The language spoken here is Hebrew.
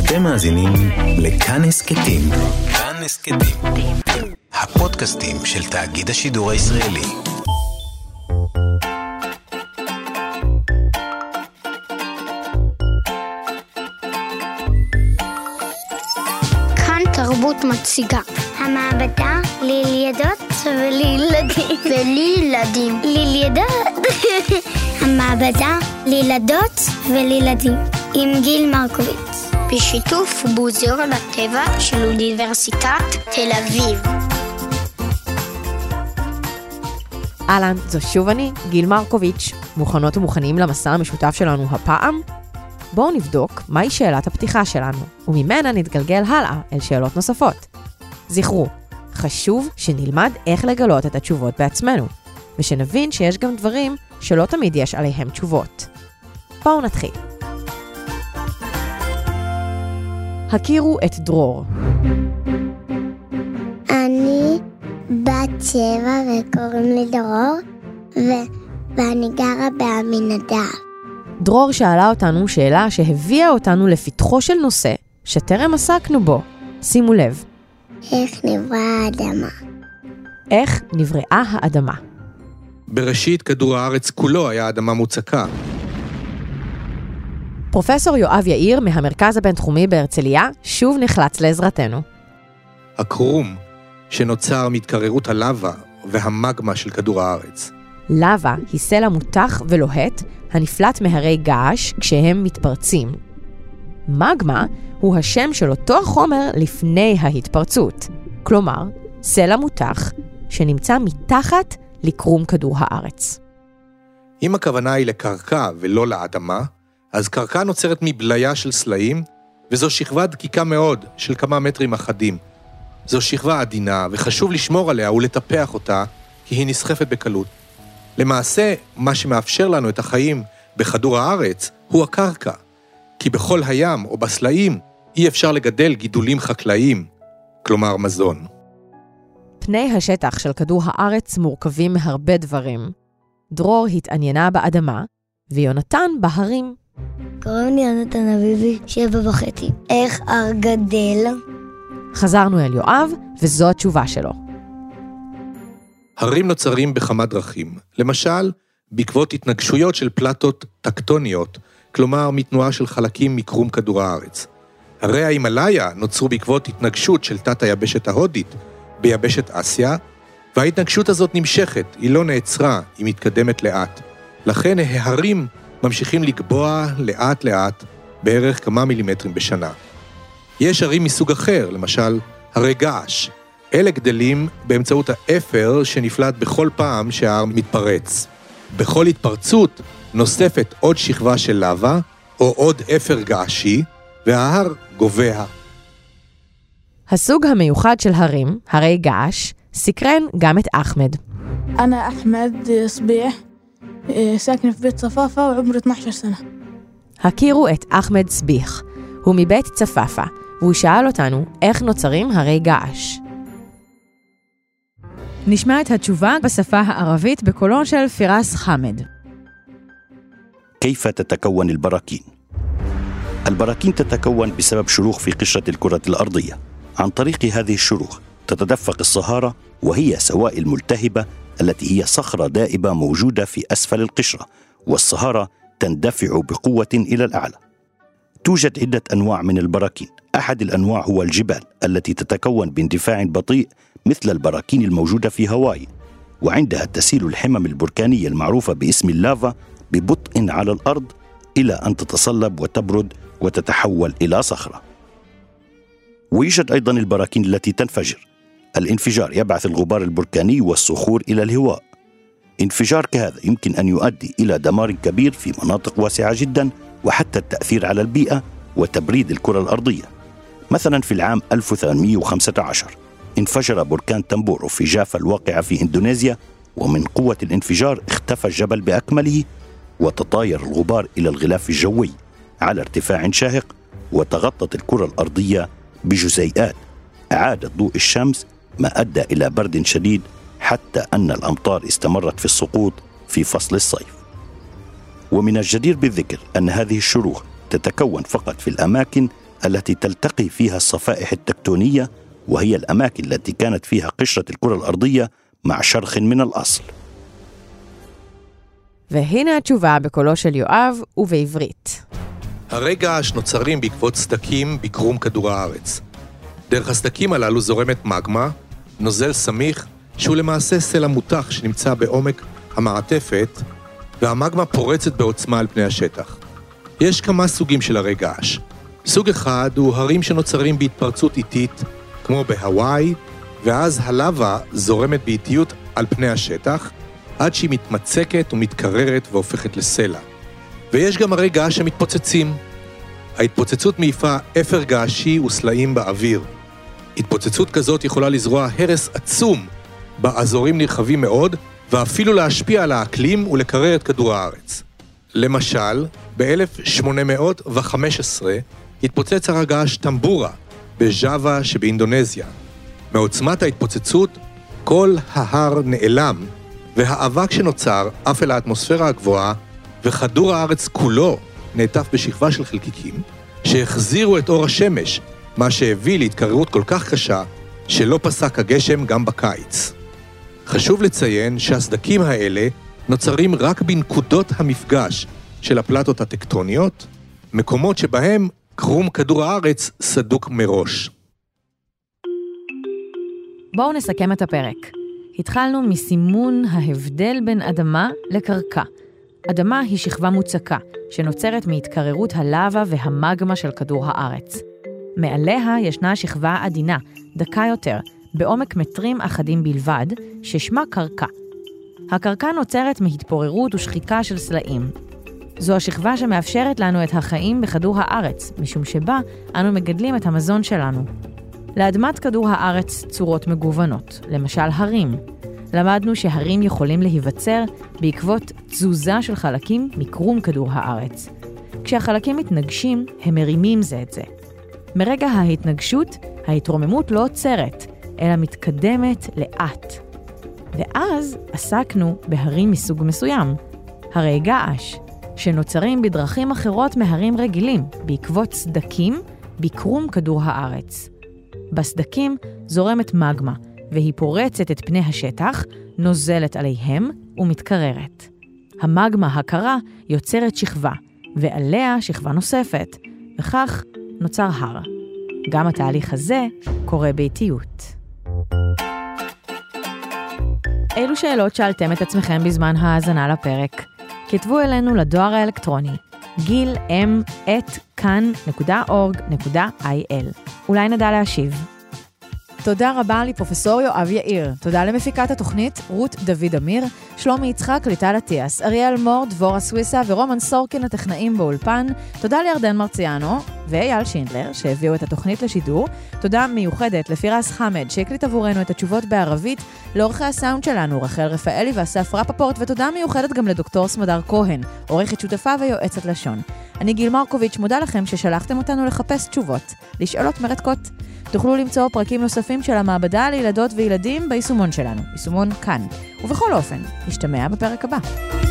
אתם מאזינים לכאן הסקטים. כאן הסקטים. הפודקאסטים של תאגיד השידור הישראלי. כאן תרבות מציגה. המעבדה לילדות ולילדים. ולילדים. לילדות. המעבדה לילדות ולילדים. עם גיל מרקוביץ. בשיתוף מוזיאון הטבע של אוניברסיטת תל אביב. אהלן, זו שוב אני, גיל מרקוביץ. מוכנות ומוכנים למסע המשותף שלנו הפעם? בואו נבדוק מהי שאלת הפתיחה שלנו, וממנה נתגלגל הלאה אל שאלות נוספות. זכרו, חשוב שנלמד איך לגלות את התשובות בעצמנו, ושנבין שיש גם דברים שלא תמיד יש עליהם תשובות. בואו נתחיל. הכירו את דרור. אני בת 7 וקוראים לי דרור, ואני גרה בעמינדב. דרור שאלה אותנו שאלה שהביאה אותנו לפתחו של נושא שטרם עסקנו בו. שימו לב. איך נבראה האדמה? איך נבראה האדמה? בראשית כדור הארץ כולו היה אדמה מוצקה. פרופסור יואב יאיר מהמרכז הבינתחומי בהרצליה שוב נחלץ לעזרתנו. הקרום שנוצר מהתקררות הלאבה והמגמה של כדור הארץ. לבה היא סלע מותח ולוהט הנפלט מהרי געש כשהם מתפרצים. מגמה הוא השם של אותו החומר לפני ההתפרצות. כלומר, סלע מותח שנמצא מתחת לקרום כדור הארץ. אם הכוונה היא לקרקע ולא לאדמה, אז קרקע נוצרת מבליה של סלעים, וזו שכבה דקיקה מאוד של כמה מטרים אחדים. זו שכבה עדינה, וחשוב לשמור עליה ולטפח אותה, כי היא נסחפת בקלות. למעשה, מה שמאפשר לנו את החיים בכדור הארץ הוא הקרקע, כי בכל הים או בסלעים אי אפשר לגדל גידולים חקלאיים, כלומר מזון. פני השטח של כדור הארץ מורכבים מהרבה דברים. דרור התעניינה באדמה, ויונתן בהרים. קוראים לי יונתן אביבי, 7.5. איך הר גדל? חזרנו אל יואב, וזו התשובה שלו. הרים נוצרים בכמה דרכים. למשל, בעקבות התנגשויות של פלטות טקטוניות, כלומר מתנועה של חלקים מקרום כדור הארץ. הרי ההימלאיה נוצרו בעקבות התנגשות של תת היבשת ההודית ביבשת אסיה, וההתנגשות הזאת נמשכת, היא לא נעצרה, היא מתקדמת לאט. לכן ההרים ממשיכים לגבוה לאט לאט, בערך כמה מילימטרים בשנה. יש הרים מסוג אחר, למשל הרי געש. אלה גדלים באמצעות האפר שנפלט בכל פעם שההר מתפרץ. בכל התפרצות נוספת עוד שכבה של לבה, או עוד אפר געשי, וההר גובע. הסוג המיוחד של הרים, הרי געש, סקרן גם את אחמד. أنا أحمد صبيح ساكن في بيت صفافة وعمري 12 سنة. הכירו את אחמד סביח. הוא מבית צפאפה, והוא שאל אותנו איך נוצרים הרי געש. נשמע את התשובה בשפה הערבית בקולו של פיראס חמד. كيف تتكون البراكين؟ البراكين تتكون بسبب شروخ في قشرة الكرة الأرضية. عن طريق هذه الشروخ تتدفق الصهارة، وهي سوائل ملتهبة التي هي صخرة دائبة موجودة في أسفل القشرة، والصهارة تندفع بقوة إلى الأعلى. توجد عدة أنواع من البراكين. أحد الأنواع هو الجبال التي تتكون باندفاع بطيء مثل البراكين الموجودة في هاواي، وعندها تسيل الحمم البركانية المعروفة باسم اللافا ببطء على الأرض إلى أن تتصلب وتبرد وتتحول إلى صخرة. ويوجد أيضا البراكين التي تنفجر. الانفجار يبعث الغبار البركاني والصخور إلى الهواء. انفجار كهذا يمكن أن يؤدي إلى دمار كبير في مناطق واسعة جدا، وحتى التأثير على البيئة وتبريد الكرة الأرضية. مثلا في العام 1815 انفجر بركان تمبورو في جافا الواقعة في إندونيسيا، ومن قوة الانفجار اختفى الجبل بأكمله، وتطاير الغبار إلى الغلاف الجوي على ارتفاع شاهق، وتغطت الكرة الأرضية بجزيئات أعادت ضوء الشمس، ما أدى إلى برد شديد حتى أن الأمطار استمرت في السقوط في فصل الصيف. ومن الجدير بالذكر أن هذه الشروخ تتكون فقط في الأماكن التي תلتقي فيها الصفائح التكتونية، وهي الأماكن التي كانت فيها قشرة الكرة الأرضية مع شرخ من الأصل. והנה התשובה בקולו של יואב ובעברית. הרי געש נוצרים בעקבות סדקים בקרום כדור הארץ. דרך הסדקים הללו זורמת מגמה, נוזל סמיך, שהוא למעשה סלע מותח שנמצא בעומק המעטפת, והמגמה פורצת בעוצמה על פני השטח. יש כמה סוגים של הרי געש. סוג אחד הוא הרים שנוצרים בהתפרצות איטית, כמו בהוואי, ואז הלאבה זורמת באיטיות על פני השטח, עד שהיא מתמצקת ומתקררת והופכת לסלע. ויש גם הרי געש שמתפוצצים. ההתפוצצות מעיפה אפר געשי וסלעים באוויר. התפוצצות כזאת יכולה לזרוע הרס עצום באזורים נרחבים מאוד, ואפילו להשפיע על האקלים ולקרר את כדור הארץ. למשל, ב-1815 התפוצץ הר הגעש טמבורה בג'אווה שבאינדונזיה. מעוצמת ההתפוצצות, כל ההר נעלם, והאבק שנוצר אף אל האטמוספירה הגבוהה, וכדור הארץ כולו נעטף בשכבה של חלקיקים, שהחזירו את אור השמש, מה שהביא להתקררות כל כך קשה, שלא פסק הגשם גם בקיץ. חשוב לציין שהסדקים האלה נוצרים רק בנקודות המפגש של הפלטות הטקטוניות, מקומות שבהם קרום כדור הארץ סדוק מראש. בואו נסכם את הפרק. התחלנו מסימון ההבדל בין אדמה לקרקע. אדמה היא שכבה מוצקה, שנוצרת מהתקררות הלאבה והמגמה של כדור הארץ. מעליה ישנה שכבה עדינה, דקה יותר, בעומק מטרים אחדים בלבד, ששמה קרקע. הקרקע נוצרת מהתפוררות ושחיקה של סלעים. זו השכבה שמאפשרת לנו את החיים בכדור הארץ, משום שבה אנו מגדלים את המזון שלנו. לאדמת כדור הארץ צורות מגוונות, למשל הרים. למדנו שהרים יכולים להיווצר בעקבות תזוזה של חלקים מקרום כדור הארץ. כשהחלקים מתנגשים, הם מרימים זה את זה. מרגע ההתנגשות, ההתרוממות לא עוצרת, אלא מתקדמת לאט. ואז עסקנו בהרים מסוג מסוים, הרי געש, שנוצרים בדרכים אחרות מהרים רגילים, בעקבות סדקים בקרום כדור הארץ. בסדקים זורמת מגמה, והיא פורצת את פני השטח, נוזלת עליהם ומתקררת. המגמה הקרה יוצרת שכבה, ועליה שכבה נוספת, וכך נוצר הר. גם התהליך הזה קורה באיטיות. אילו שאלות שאלתם את עצמכם בזמן ההאזנה לפרק? כתבו אלינו לדואר האלקטרוני gil.kan.org.il. אולי נדע להשיב. תודה רבה לפרופסור יואב יאיר. תודה למפיקת התוכנית רות דוד אמיר, שלומי יצחק, ליטל עטיאס, אריאל מור, דבורה סוויסה ורומן סורקין הטכנאים באולפן. תודה לירדן מרציאנו ואייל שינדלר שהביאו את התוכנית לשידור. תודה מיוחדת לפירס חמד שהקליט עבורנו את התשובות בערבית, לעורכי הסאונד שלנו רחל רפאלי ואסף רפפורט, ותודה מיוחדת גם לדוקטור סמדר כהן, עורכת שותפה ויועצת לשון. אני גיל מרקוביץ', מודה לכם ששלחתם אותנו לחפש תשובות, לשאלות מרתקות. תוכלו למצוא פרקים נוספים של המעבדה לילדות וילדים ביישומון שלנו, יישומון כאן. ובכל אופן, נשתמע בפרק הבא.